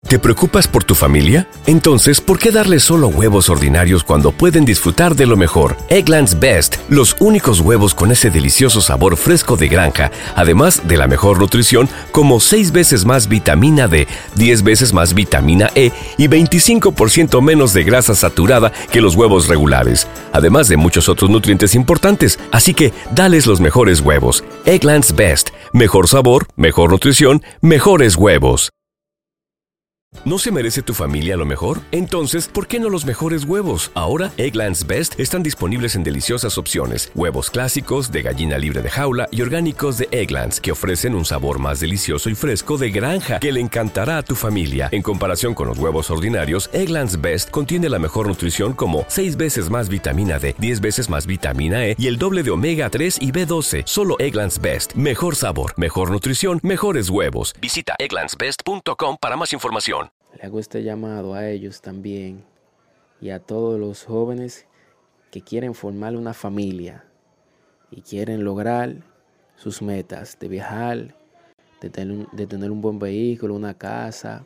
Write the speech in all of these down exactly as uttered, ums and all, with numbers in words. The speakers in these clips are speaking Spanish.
¿Te preocupas por tu familia? Entonces, ¿por qué darles solo huevos ordinarios cuando pueden disfrutar de lo mejor? Eggland's Best, los únicos huevos con ese delicioso sabor fresco de granja, además de la mejor nutrición, como seis veces más vitamina D, diez veces más vitamina E y veinticinco por ciento menos de grasa saturada que los huevos regulares, además de muchos otros nutrientes importantes. Así que, dales los mejores huevos. Eggland's Best, mejor sabor, mejor nutrición, mejores huevos. ¿No se merece tu familia lo mejor? Entonces, ¿por qué no los mejores huevos? Ahora, Eggland's Best están disponibles en deliciosas opciones. Huevos clásicos, de gallina libre de jaula y orgánicos de Eggland's, que ofrecen un sabor más delicioso y fresco de granja que le encantará a tu familia. En comparación con los huevos ordinarios, Eggland's Best contiene la mejor nutrición como seis veces más vitamina D, diez veces más vitamina E y el doble de omega tres y B doce. Solo Eggland's Best. Mejor sabor, mejor nutrición, mejores huevos. Visita egglands best punto com para más información. Le hago este llamado a ellos también y a todos los jóvenes que quieren formar una familia y quieren lograr sus metas de viajar, de tener, de tener un buen vehículo, una casa,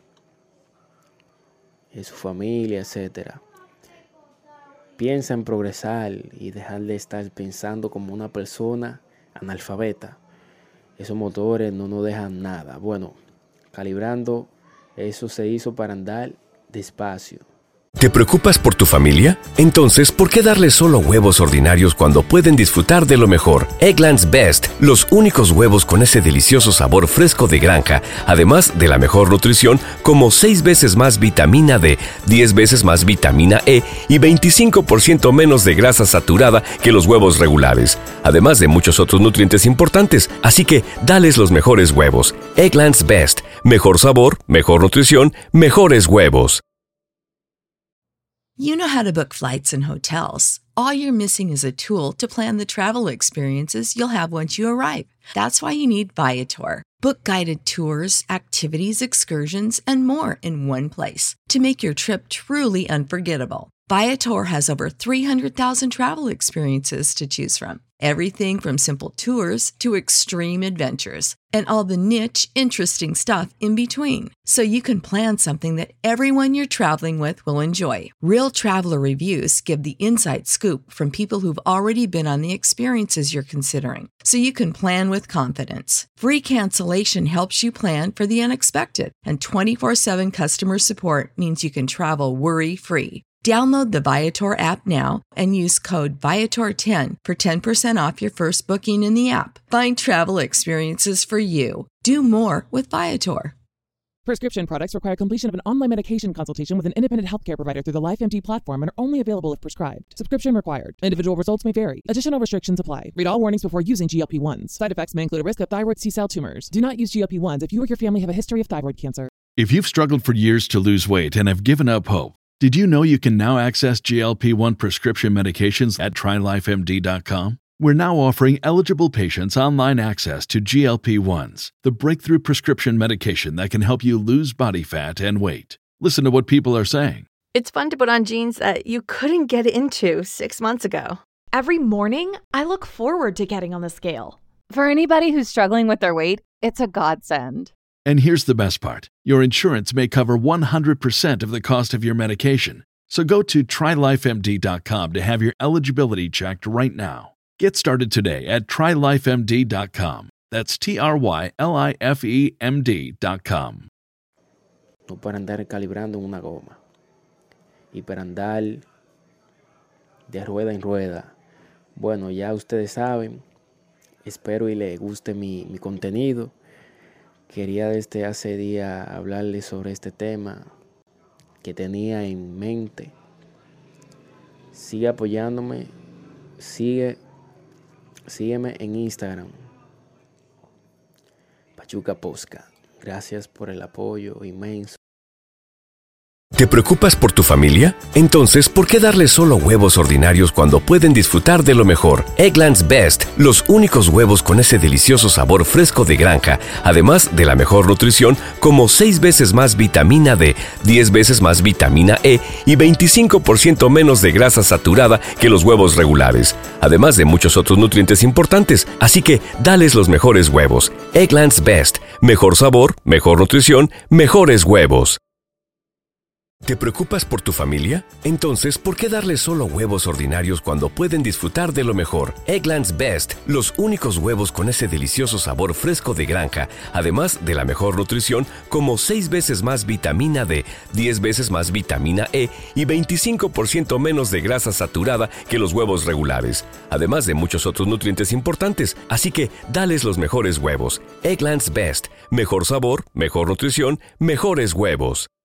su familia, etcétera. Piensa en progresar y dejar de estar pensando como una persona analfabeta. Esos motores no nos dejan nada. Bueno, calibrando, eso se hizo para andar despacio. ¿Te preocupas por tu familia? Entonces, ¿por qué darles solo huevos ordinarios cuando pueden disfrutar de lo mejor? Eggland's Best, los únicos huevos con ese delicioso sabor fresco de granja, además de la mejor nutrición, como seis veces más vitamina D, diez veces más vitamina E y veinticinco por ciento menos de grasa saturada que los huevos regulares, además de muchos otros nutrientes importantes. Así que, dales los mejores huevos. Eggland's Best, mejor sabor, mejor nutrición, mejores huevos. You know how to book flights and hotels. All you're missing is a tool to plan the travel experiences you'll have once you arrive. That's why you need Viator. Book guided tours, activities, excursions, and more in one place to make your trip truly unforgettable. Viator has over three hundred thousand travel experiences to choose from. Everything from simple tours to extreme adventures and all the niche, interesting stuff in between. So you can plan something that everyone you're traveling with will enjoy. Real traveler reviews give the inside scoop from people who've already been on the experiences you're considering. So you can plan with confidence. Free cancellation helps you plan for the unexpected. And twenty-four seven customer support means you can travel worry-free. Download the Viator app now and use code Viator ten for ten percent off your first booking in the app. Find travel experiences for you. Do more with Viator. Prescription products require completion of an online medication consultation with an independent healthcare provider through the LifeMD platform and are only available if prescribed. Subscription required. Individual results may vary. Additional restrictions apply. Read all warnings before using G L P ones. Side effects may include a risk of thyroid C-cell tumors. Do not use G L P ones if you or your family have a history of thyroid cancer. If you've struggled for years to lose weight and have given up hope, did you know you can now access G L P one prescription medications at try life M D dot com? We're now offering eligible patients online access to G L P ones, the breakthrough prescription medication that can help you lose body fat and weight. Listen to what people are saying. It's fun to put on jeans that you couldn't get into six months ago. Every morning, I look forward to getting on the scale. For anybody who's struggling with their weight, it's a godsend. And here's the best part. Your insurance may cover one hundred percent of the cost of your medication. So go to try life M D dot com to have your eligibility checked right now. Get started today at try life M D dot com. That's T R Y L I F E M D dot com. No para andar calibrando en una goma. Y para andar de rueda en rueda. Bueno, ya ustedes saben. Espero y les guste mi, mi contenido. Quería desde hace día hablarles sobre este tema que tenía en mente. Sigue apoyándome, sigue, sígueme en Instagram, Pachuca Posca. Gracias por el apoyo inmenso. ¿Te preocupas por tu familia? Entonces, ¿por qué darles solo huevos ordinarios cuando pueden disfrutar de lo mejor? Eggland's Best, los únicos huevos con ese delicioso sabor fresco de granja, además de la mejor nutrición, como seis veces más vitamina D, diez veces más vitamina E y veinticinco por ciento menos de grasa saturada que los huevos regulares, además de muchos otros nutrientes importantes. Así que, dales los mejores huevos. Eggland's Best, mejor sabor, mejor nutrición, mejores huevos. ¿Te preocupas por tu familia? Entonces, ¿por qué darles solo huevos ordinarios cuando pueden disfrutar de lo mejor? Eggland's Best, los únicos huevos con ese delicioso sabor fresco de granja, además de la mejor nutrición, como seis veces más vitamina D, diez veces más vitamina E y veinticinco por ciento menos de grasa saturada que los huevos regulares, además de muchos otros nutrientes importantes. Así que, dales los mejores huevos. Eggland's Best, mejor sabor, mejor nutrición, mejores huevos.